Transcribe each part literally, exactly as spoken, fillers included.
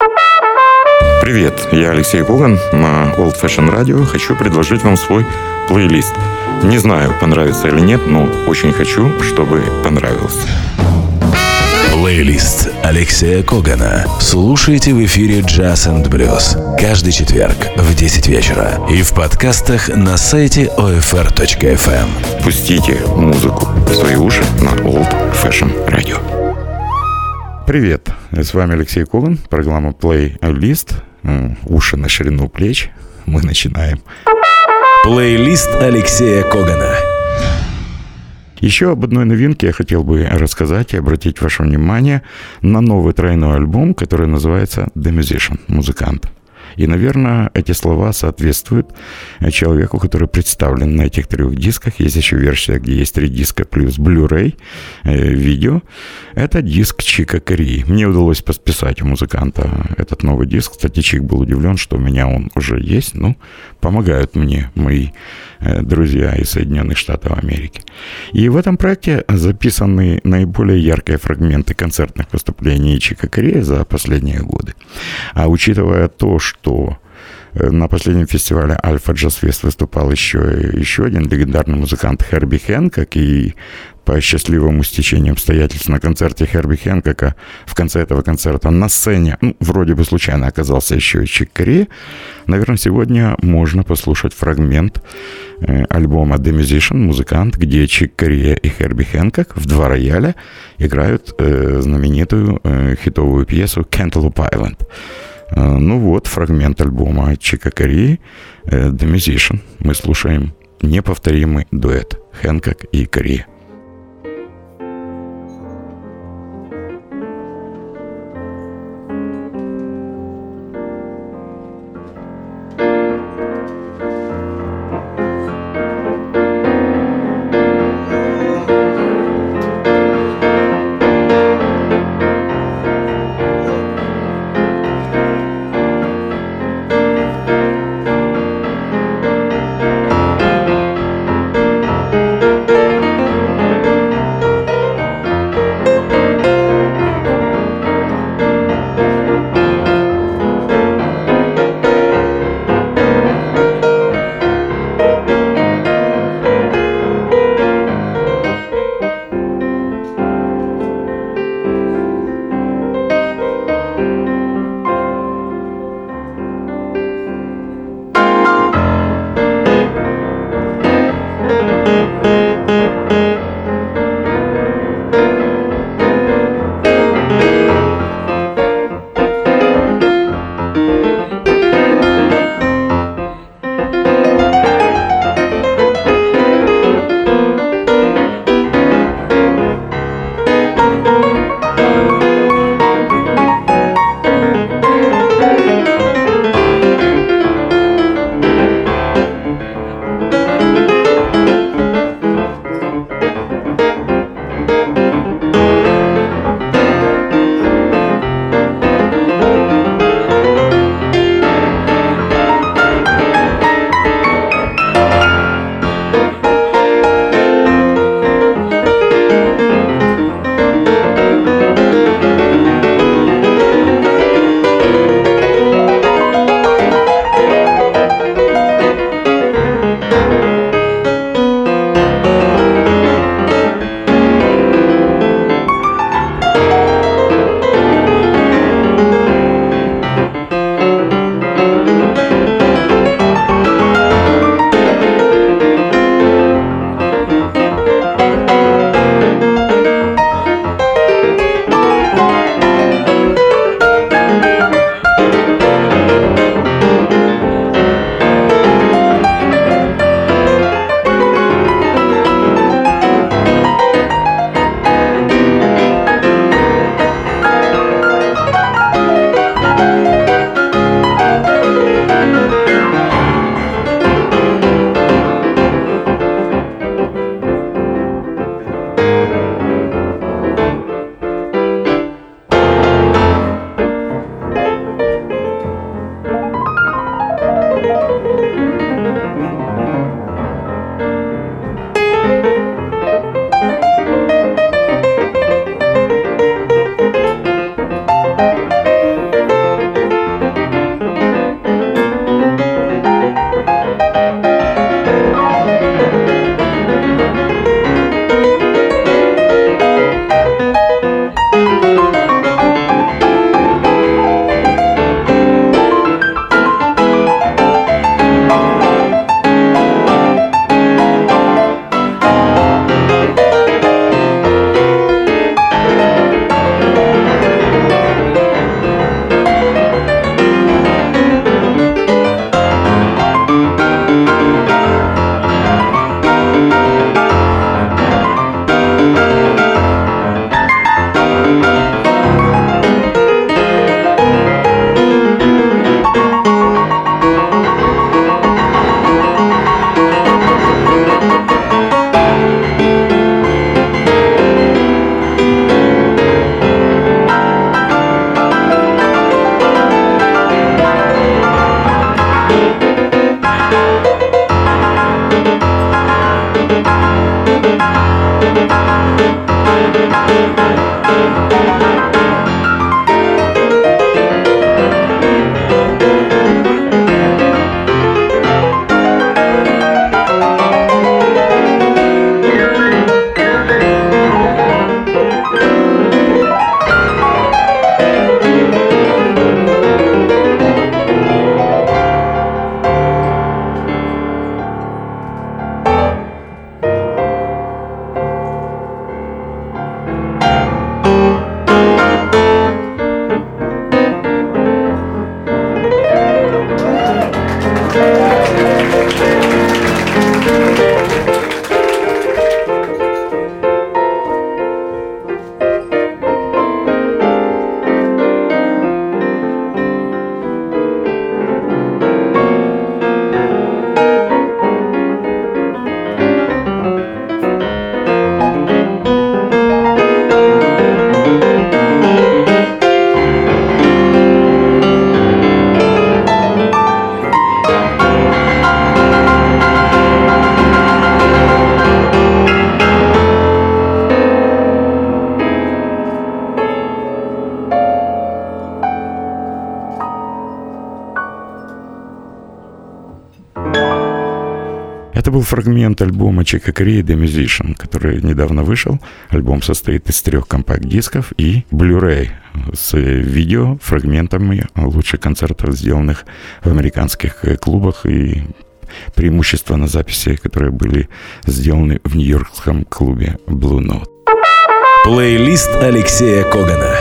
Привет, я Алексей Коган на Old Fashion Radio. Хочу предложить вам свой плейлист. Не знаю, понравится или нет, но очень хочу, чтобы понравился. Плейлист Алексея Когана. Слушайте в эфире Jazz энд Blues каждый четверг в десять вечера и в подкастах на сайте о эф эр точка эф эм. Пустите музыку в свои уши на Old Fashion Radio. Привет, с вами Алексей Коган, программа Плейлист. Уши на ширину плеч. Мы начинаем. Плейлист Алексея Когана. Еще об одной новинке я хотел бы рассказать и обратить ваше внимание на новый тройной альбом, который называется The Musician, музыкант. И, наверное, эти слова соответствуют человеку, который представлен на этих трех дисках. Есть еще версия, где есть три диска плюс Blu-ray, э, видео. Это диск Чика Кории. Мне удалось посписать у музыканта этот новый диск. Кстати, Чик был удивлен, что у меня он уже есть. Ну, помогают мне мои э, друзья из Соединенных Штатов Америки. И в этом проекте записаны наиболее яркие фрагменты концертных выступлений Чика Кории за последние годы. А учитывая то, что что на последнем фестивале Альфа Джаз Фест выступал еще, еще один легендарный музыкант Херби Хэнкок, и по счастливому стечению обстоятельств на концерте Херби Хэнкока в конце этого концерта на сцене, ну, вроде бы случайно оказался еще и Чик Кория. Наверное, сегодня можно послушать фрагмент э, альбома The Musician, музыкант, где Чик Кория и Херби Хэнкок в два рояля играют э, знаменитую э, хитовую пьесу Cantaloupe Island. Ну вот, фрагмент альбома Чика Кории The Musician. Мы слушаем неповторимый дуэт Хэнкок и Кория. Это был фрагмент альбома Чика Коrea «The Musician», который недавно вышел. Альбом состоит из трех компакт-дисков и Blu-ray с видео, фрагментами лучших концертов, сделанных в американских клубах, и преимущественно записи, которые были сделаны в нью-йоркском клубе Blue Note. Плейлист Алексея Когана.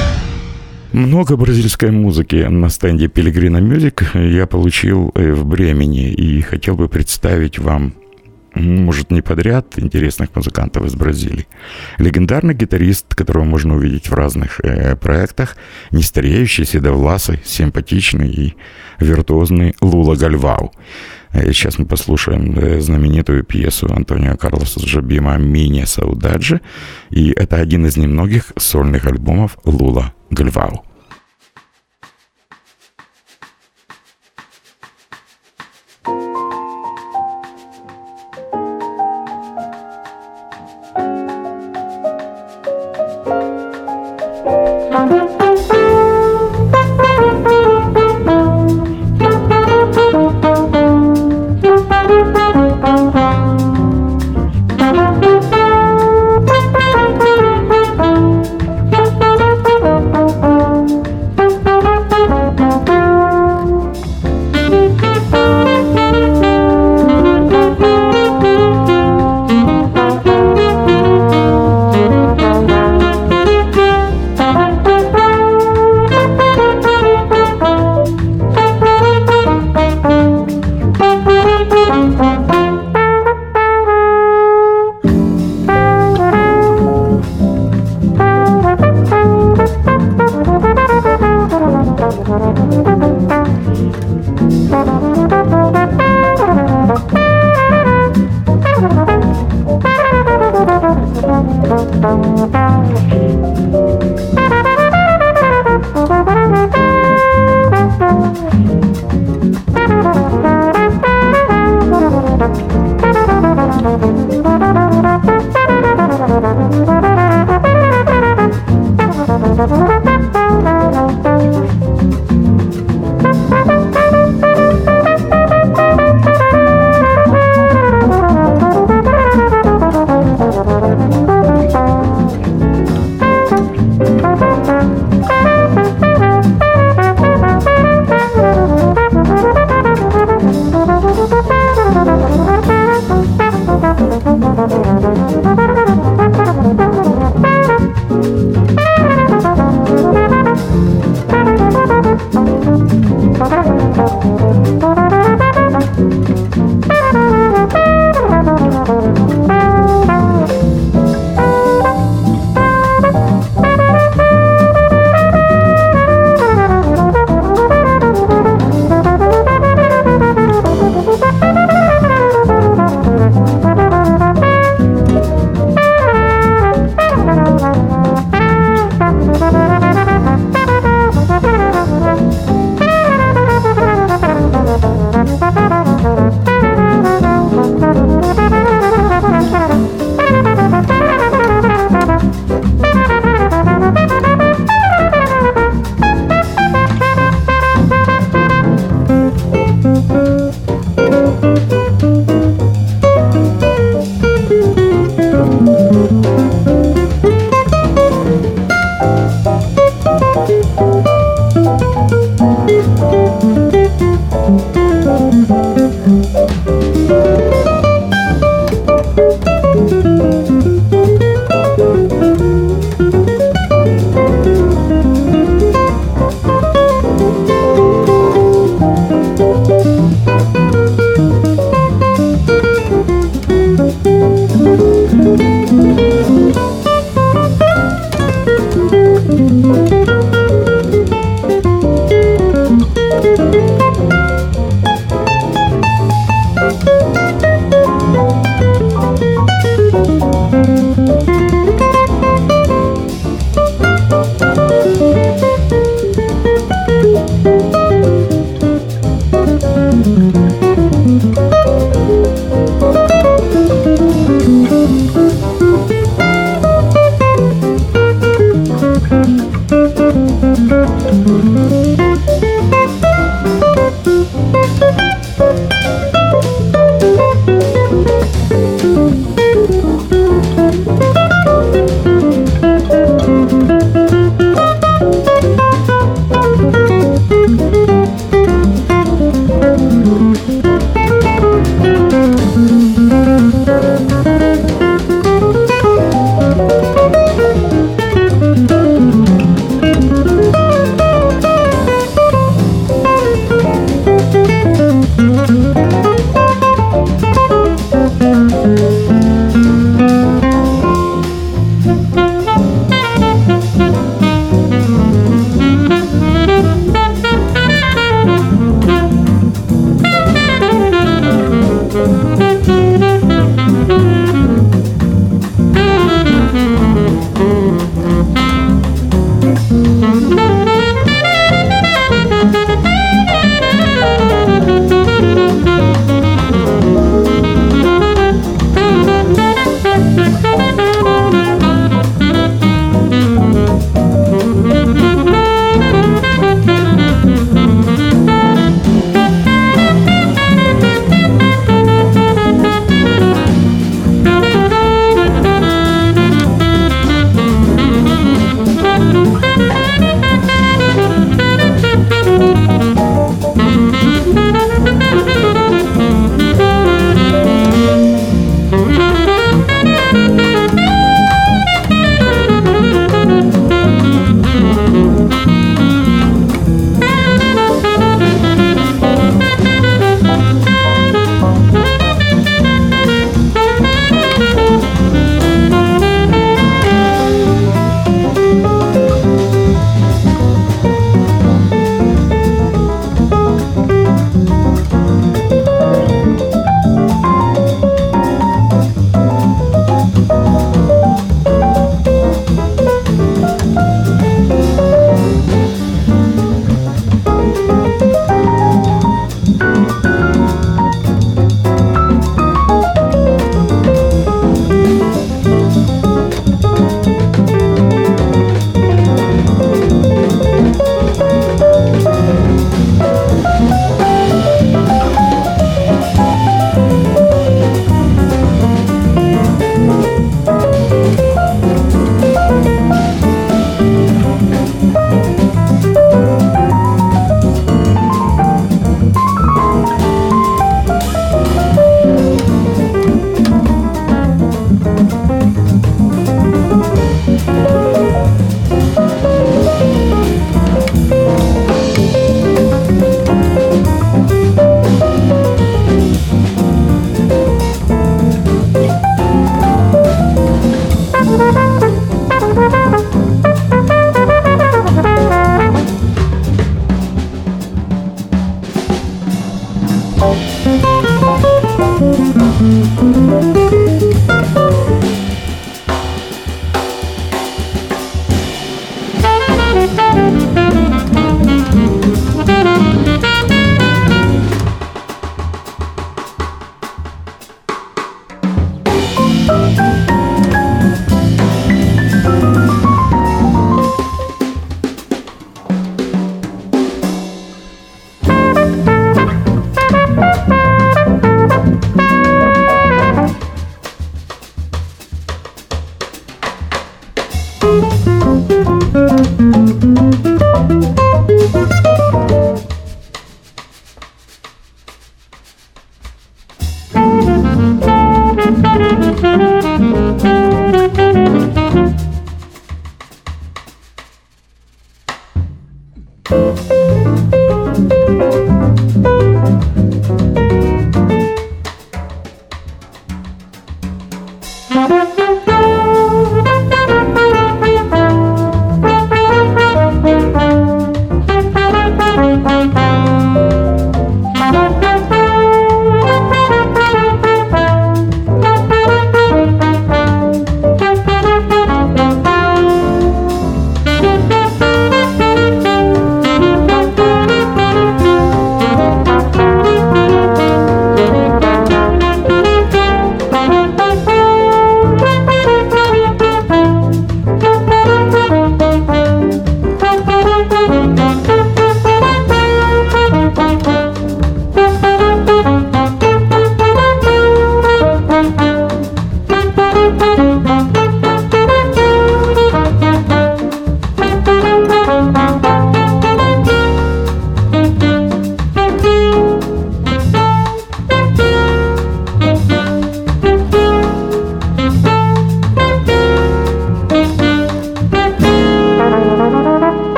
Много бразильской музыки на стенде Pellegrino Music я получил в Бремени и хотел бы представить вам, может, не подряд, интересных музыкантов из Бразилии. Легендарный гитарист, которого можно увидеть в разных э, проектах, нестареющий, седовласый, симпатичный и виртуозный Лула Гальвау. Сейчас мы послушаем знаменитую пьесу Антонио Карлоса Джобима «Мине Саудаджи», и это один из немногих сольных альбомов Лула Гальвау.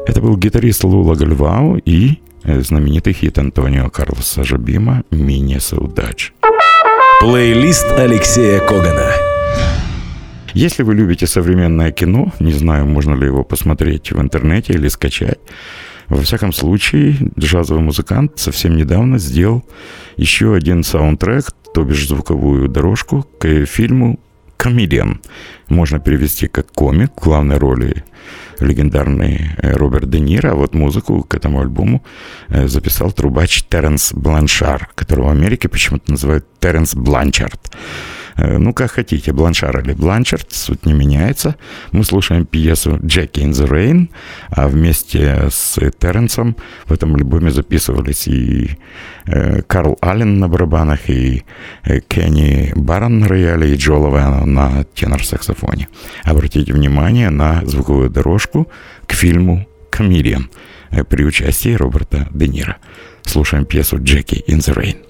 Это был гитарист Лула Гальвау и знаменитый хит Антонио Карлоса Жобима «Мине Саудач». Плейлист Алексея Когана. Если вы любите современное кино, не знаю, можно ли его посмотреть в интернете или скачать, во всяком случае, джазовый музыкант совсем недавно сделал еще один саундтрек, то бишь звуковую дорожку к фильму «Комедиан». Можно перевести как «комик», в главной роли легендарный Роберт Де Ниро, а вот музыку к этому альбому записал трубач Теренс Бланшар, которого в Америке почему-то называют Теренс Бланчард. Ну, как хотите, Бланшар или Бланчард, суть не меняется. Мы слушаем пьесу «Джеки in the Rain», а вместе с Теренсом в этом альбоме записывались и э, Карл Аллен на барабанах, и э, Кенни Барон на рояле, и Джо Ловено на тенор-саксофоне. Обратите внимание на звуковую дорожку к фильму «Комедиан» э, при участии Роберта Де Ниро. Слушаем пьесу «Джеки in the Rain».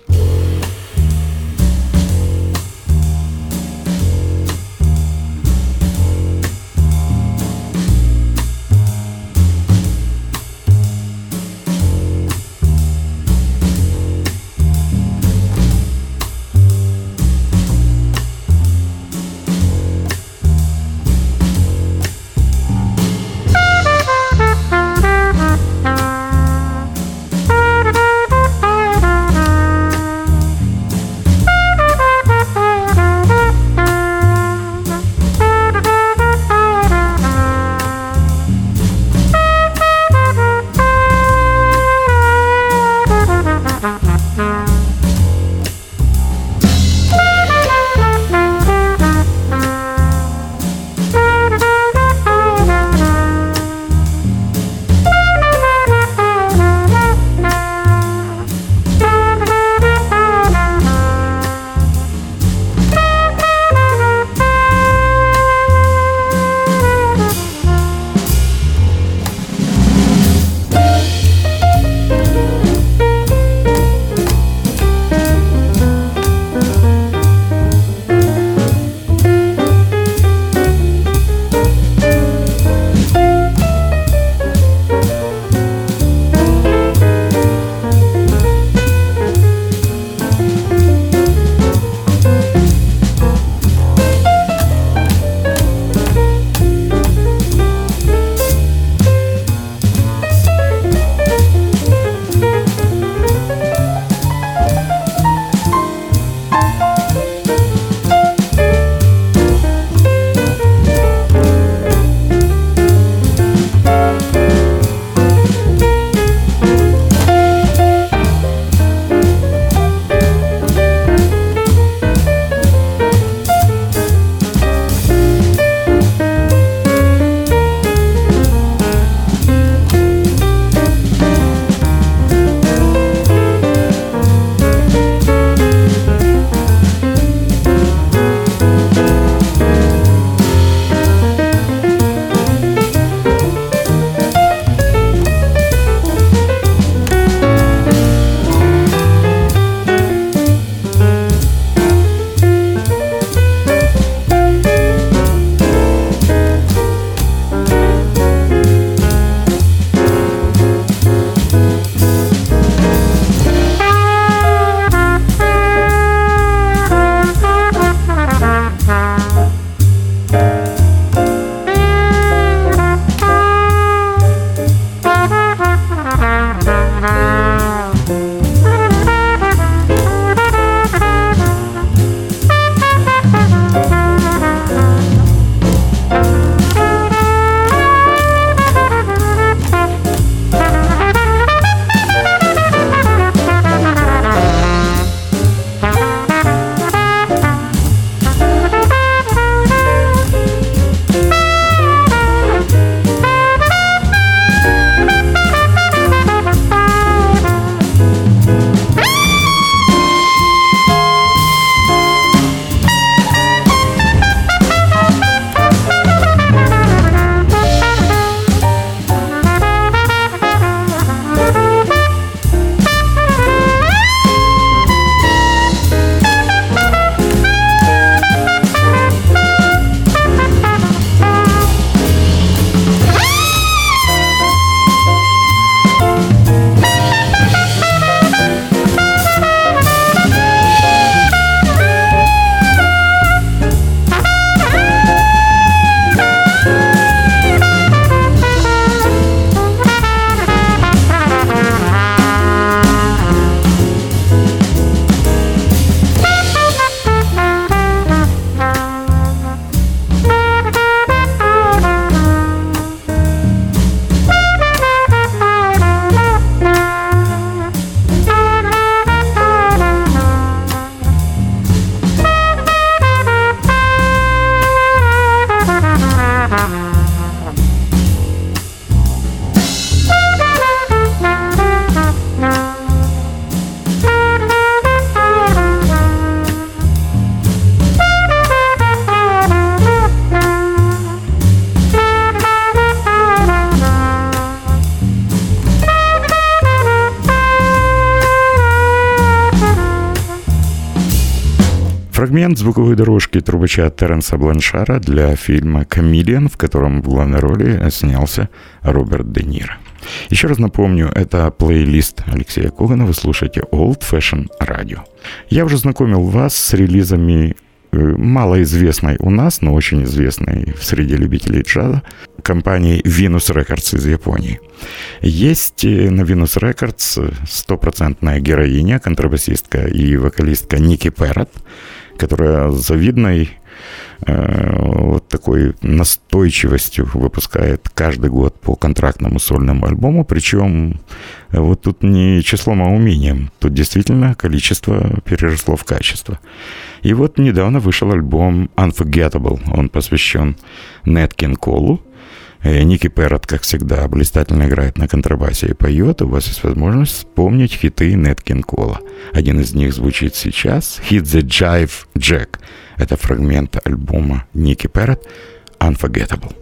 фрагмент звуковой дорожки трубача Терренса Бланшара для фильма «Комедиан», в котором в главной роли снялся Роберт Де Ниро. Еще раз напомню, это плейлист Алексея Когана, вы слушаете Old Fashion Radio. Я уже знакомил вас с релизами малоизвестной у нас, но очень известной в среде любителей джаза компании Venus Records из Японии. Есть на Venus Records стопроцентная героиня, контрабасистка и вокалистка Ники Перрот, которая с завидной э, вот такой настойчивостью выпускает каждый год по контрактному сольному альбому, причем вот тут не числом, а умением, тут действительно количество переросло в качество. И вот недавно вышел альбом Unforgettable, он посвящен Нэт Кинг Колу. Ники Перрот, как всегда, блистательно играет на контрабасе и поет. У вас есть возможность вспомнить хиты Нэт Кинг Кола. Один из них звучит сейчас. Hit the Jive Jack. Это фрагмент альбома Ники Перрот Unforgettable.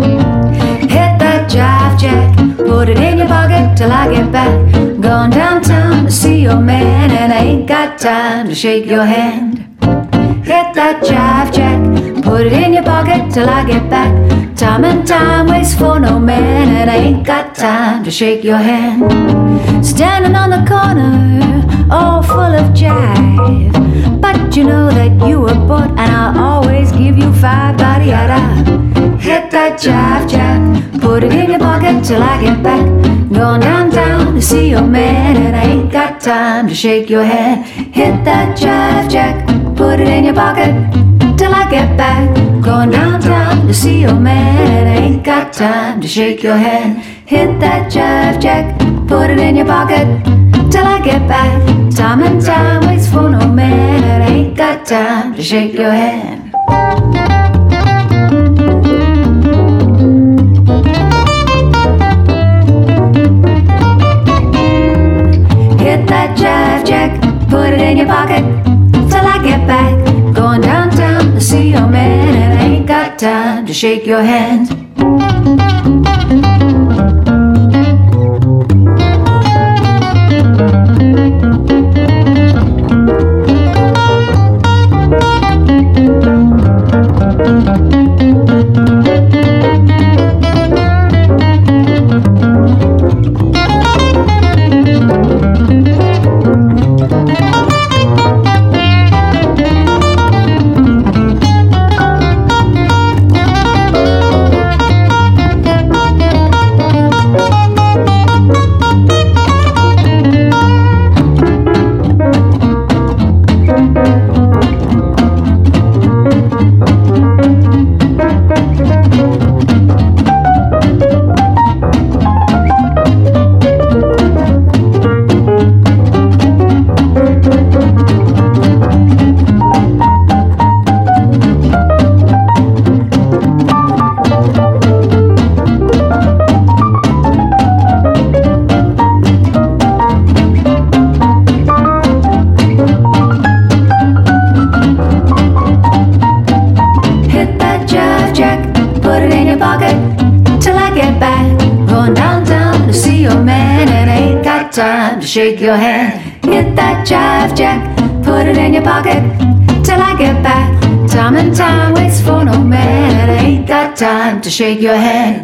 Hit that jive jack, put it in your pocket till I get back. Going downtown to see your man, and I ain't got time to shake your hand. Hit that jive jack, put it in your pocket till I get back. Time and time waits for no man, and I ain't got time to shake your hand. Standing on the corner, all full of jive, but you know that you were bought, and I'll always give you five, body-yada. Hit that jive jack, put it in your pocket till I get back. Going downtown to see your man, and I ain't got time to shake your hand. Hit that jive jack, put it in your pocket till I get back. Going downtown to see your man, and I ain't got time to shake your hand. Hit that jive jack, put it in your pocket till I get back. Time and time waits for no man, and I ain't got time to shake your hand. Hit that jive jack, put it in your pocket till I get back. Going downtown to see your man, and I ain't got time to shake your hand. Shake your hand, hit that jive jack, put it in your pocket till I get back. Time and time waits for no man, and I ain't got time to shake your hand.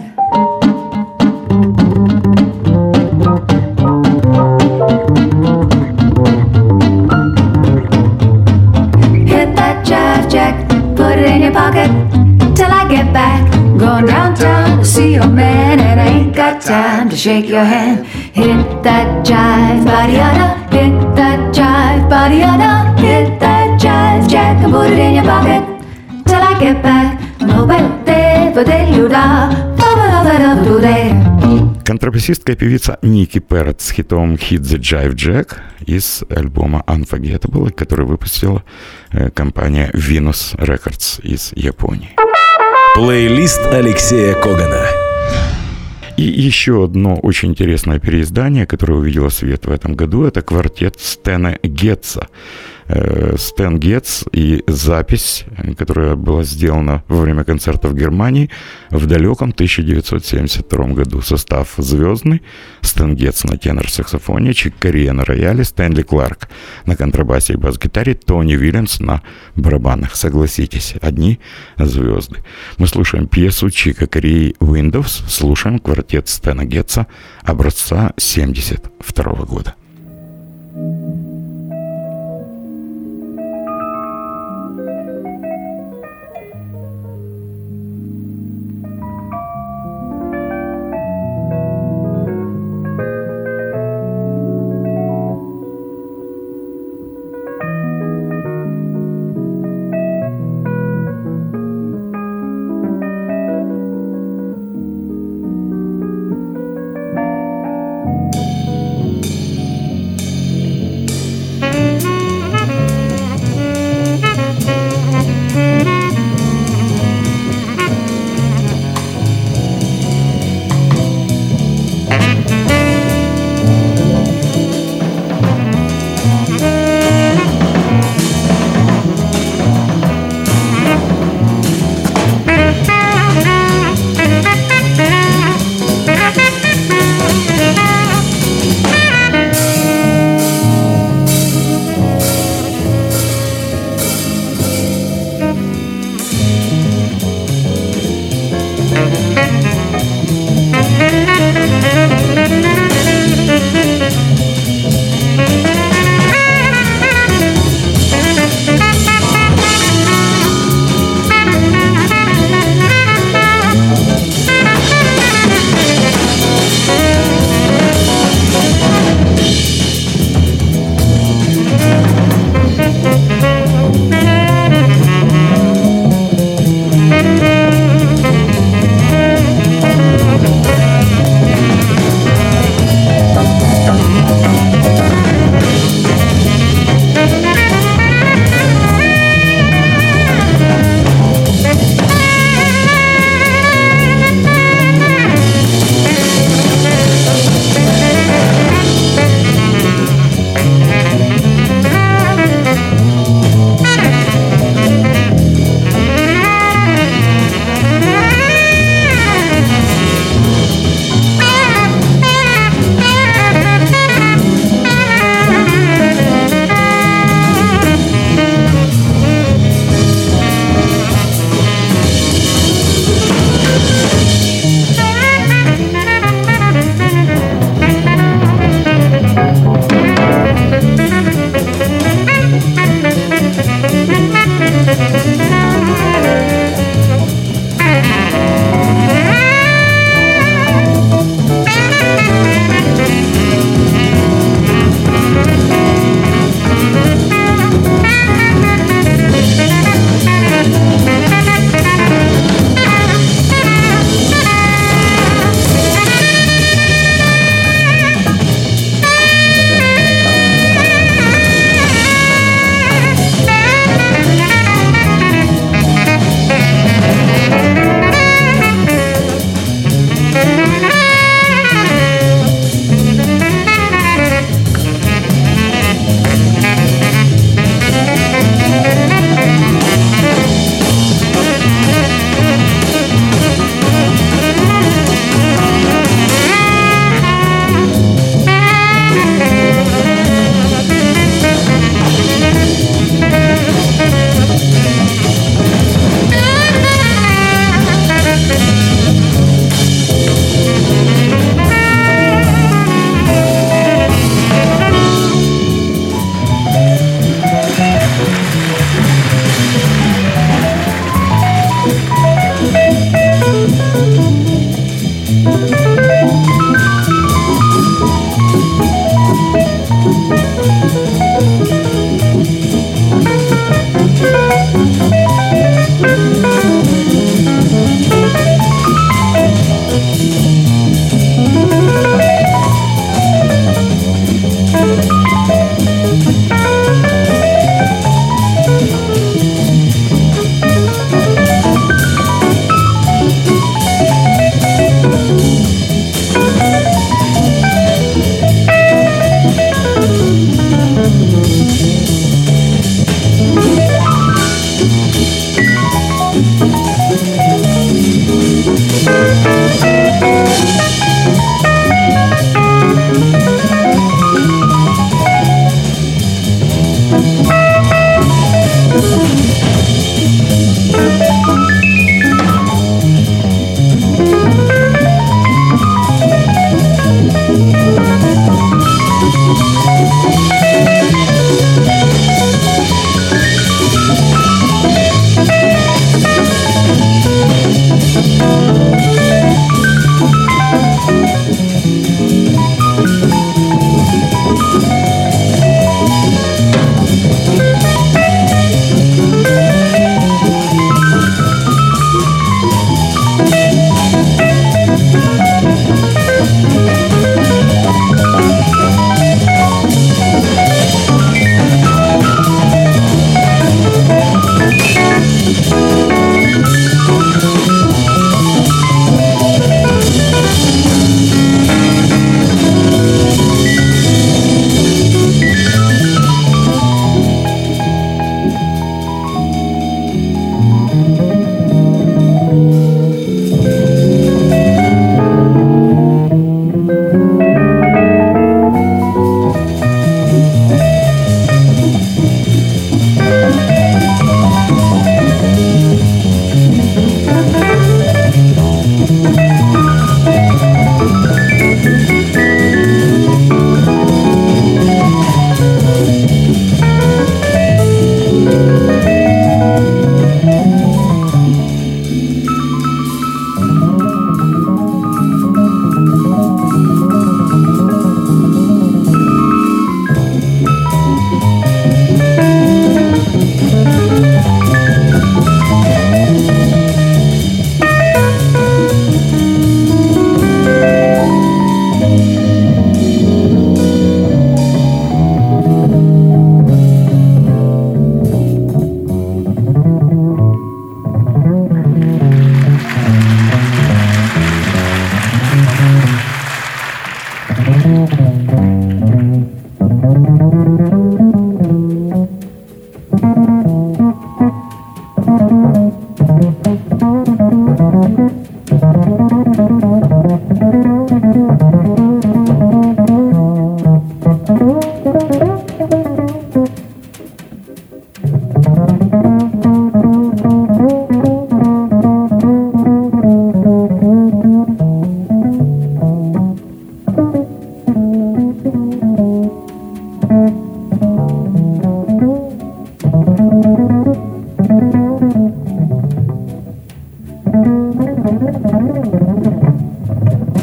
Hit that jive jack, put it in your pocket till I get back. Going downtown to see your man, and I ain't got time to shake your hand. Hit that jive, body-yada, hit that jive, body-yada, hit that jive jack and put it in your pocket till I get back. Контрабасистка и певица Ники Перрот с хитом Hit the Jive Jack из альбома Unforgettable, который выпустила компания Venus Records из Японии. Плейлист Алексея Когана. И еще одно очень интересное переиздание, которое увидело свет в этом году, это квартет Стэна Гетца. Стэн Гетц и запись, которая была сделана во время концерта в Германии в далеком тысяча девятьсот семьдесят втором году. Состав звездный: Стэн Гетц на тенор-саксофоне, Чик Кория на рояле, Стэнли Кларк на контрабасе и бас-гитаре, Тони Уильямс на барабанах. Согласитесь, одни звезды. Мы слушаем пьесу Чика Кории «Windows», слушаем квартет Стэна Гетца образца семьдесят второго года.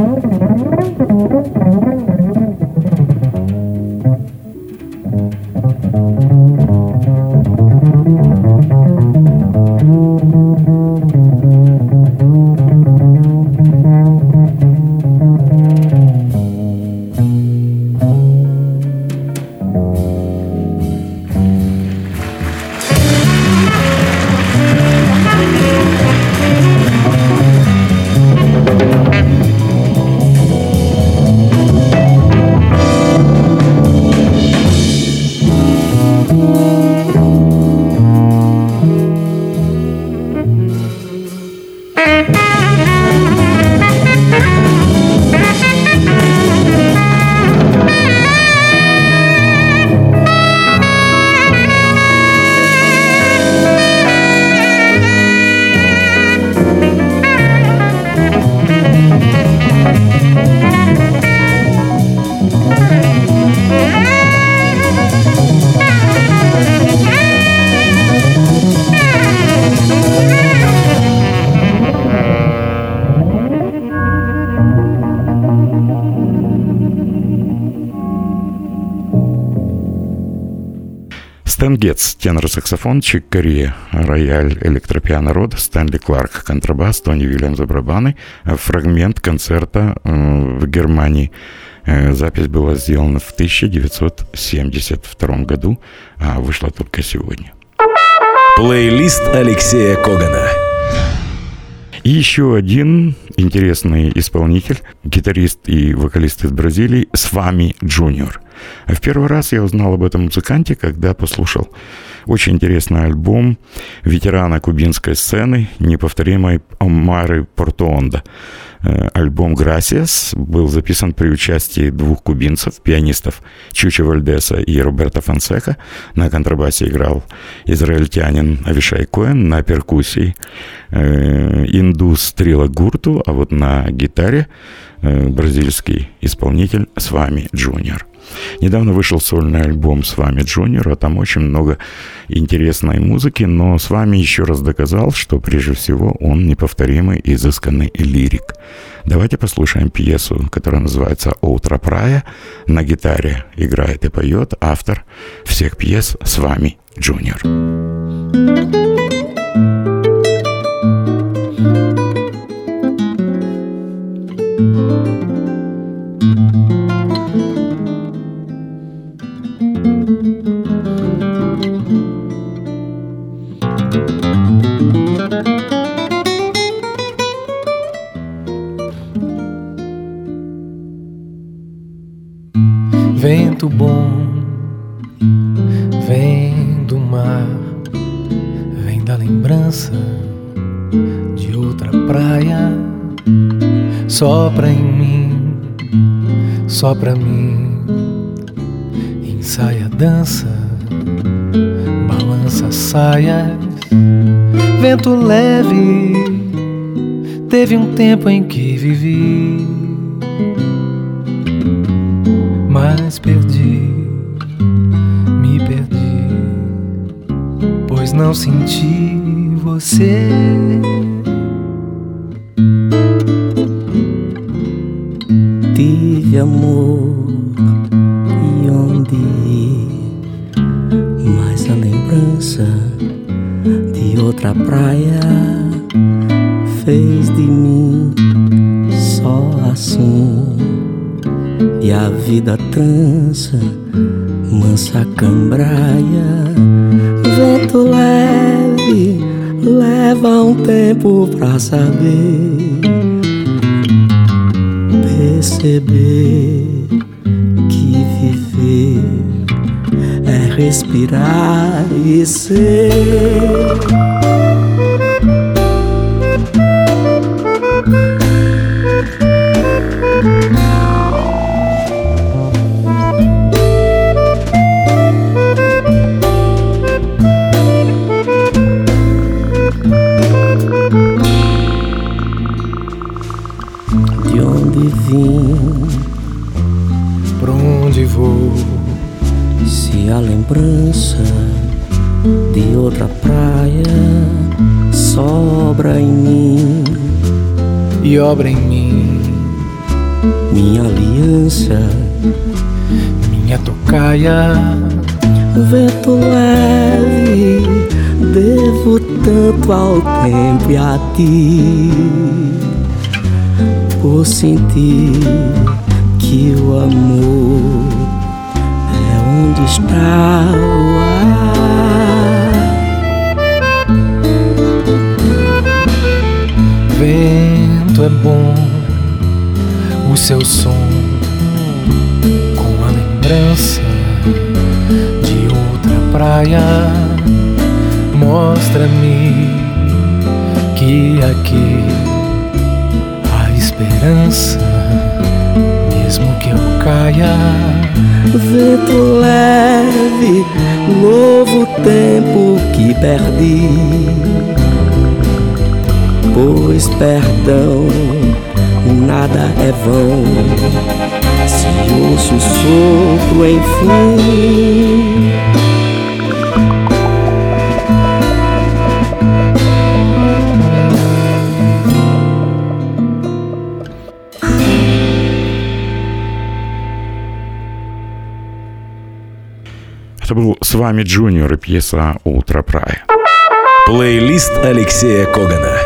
Стэн Гетц, тенор-саксофон, Чик Кория, рояль, электропиано Род, Стэнли Кларк, контрабас, Тони Вильямс, барабаны. Фрагмент концерта в Германии. Запись была сделана в тысяча девятьсот семьдесят втором году, а вышла только сегодня. Плейлист Алексея Когана. И еще один интересный исполнитель, гитарист и вокалист из Бразилии, Свами Джуниор. В первый раз я узнал об этом музыканте, когда послушал очень интересный альбом ветерана кубинской сцены, неповторимой Омары Портуонда. Альбом «Gracias» был записан при участии двух кубинцев, пианистов Чучо Вальдеса и Роберто Фонсека. На контрабасе играл израильтянин Авишай Коэн, на перкуссии э, индус Трила Гурту, а вот на гитаре э, бразильский исполнитель Свами Джуниор. Недавно вышел сольный альбом Свами Джуниора, там очень много интересной музыки, но Свами еще раз доказал, что прежде всего он неповторимый и изысканный лирик. Давайте послушаем пьесу, которая называется «Outра Praia». На гитаре играет и поет автор всех пьес Свами Джуниор. Vento bom, vem do mar, vem da lembrança de outra praia. Sopra em mim, sopra a mim, ensaia, dança, balança saias. Vento leve, teve um tempo em que vivi, mas perdi, me perdi, pois não senti você. Tive amor e onde ir, mas a lembrança de outra praia fez de mim só assim. E a vida trança, mansa cambraia. Vento leve, leva um tempo pra saber, perceber que viver é respirar e ser. Pra onde vou? Se a lembrança de outra praia sobra em mim e obra em mim, minha aliança, minha tocaia. Vento leve, devo tanto ao tempo e a ti, por sentir que o amor é onde está o ar. Vento é bom, o seu som com a lembrança de outra praia. Mostra-me que aqui há esperança, mesmo que eu caia. Vento leve, novo tempo que perdi, pois perdão nada é vão, se ouço o sopro enfim. Это был с вами Джуниор и пьеса «Утро Прая». Плейлист Алексея Когана.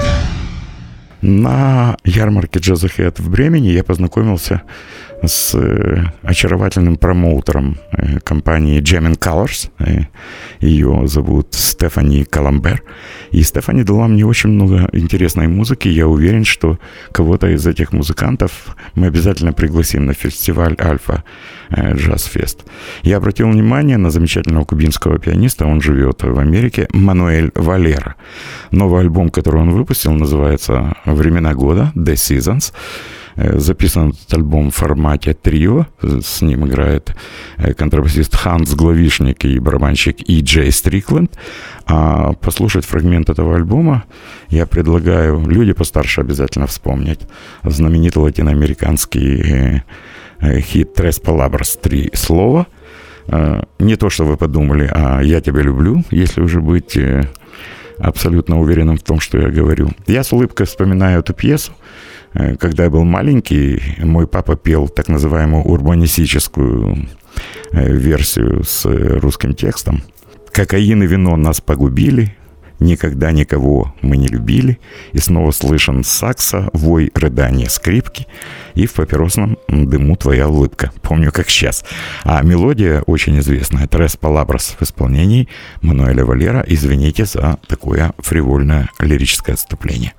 На ярмарке Джазахэд в Бремени я познакомился с очаровательным промоутером компании Gem and Colors. Ее зовут Стефани Каламбер. И Стефани дала мне очень много интересной музыки. Я уверен, что кого-то из этих музыкантов мы обязательно пригласим на фестиваль Альфа Джаз Фест. Я обратил внимание на замечательного кубинского пианиста, он живет в Америке, Мануэль Валера. Новый альбом, который он выпустил, называется «Времена года», The Seasons. Записан этот альбом в формате трио. С ним играет контрабасист Ханс Главишник и барабанщик И. Джей Стрикленд. А послушать фрагмент этого альбома я предлагаю, люди постарше обязательно вспомнить знаменитый латиноамериканский хит «Tres Palabras», «Три слова». Не то, что вы подумали, а «Я тебя люблю», если уже быть абсолютно уверенным в том, что я говорю. Я с улыбкой вспоминаю эту пьесу. Когда я был маленький, мой папа пел так называемую урбанистическую версию с русским текстом. «Кокаин и вино нас погубили, никогда никого мы не любили, и снова слышен сакса, вой, рыдание, скрипки, и в папиросном дыму твоя улыбка». Помню, как сейчас. А мелодия очень известная. «Tres Palabras» в исполнении Мануэля Валера. Извините за такое фривольное лирическое отступление.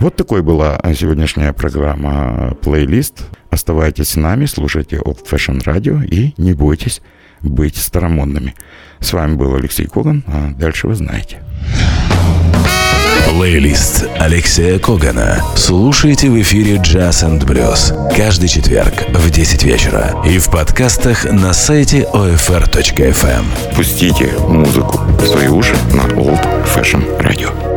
Вот такой была сегодняшняя программа «Плейлист». Оставайтесь с нами, слушайте Old Fashion Radio и не бойтесь быть старомодными. С вами был Алексей Коган, а дальше вы знаете. Плейлист Алексея Когана слушайте в эфире Jazz энд Blues каждый четверг в десять вечера и в подкастах на сайте о эф эр точка эф эм. Пустите музыку в свои уши на Old Fashion Radio.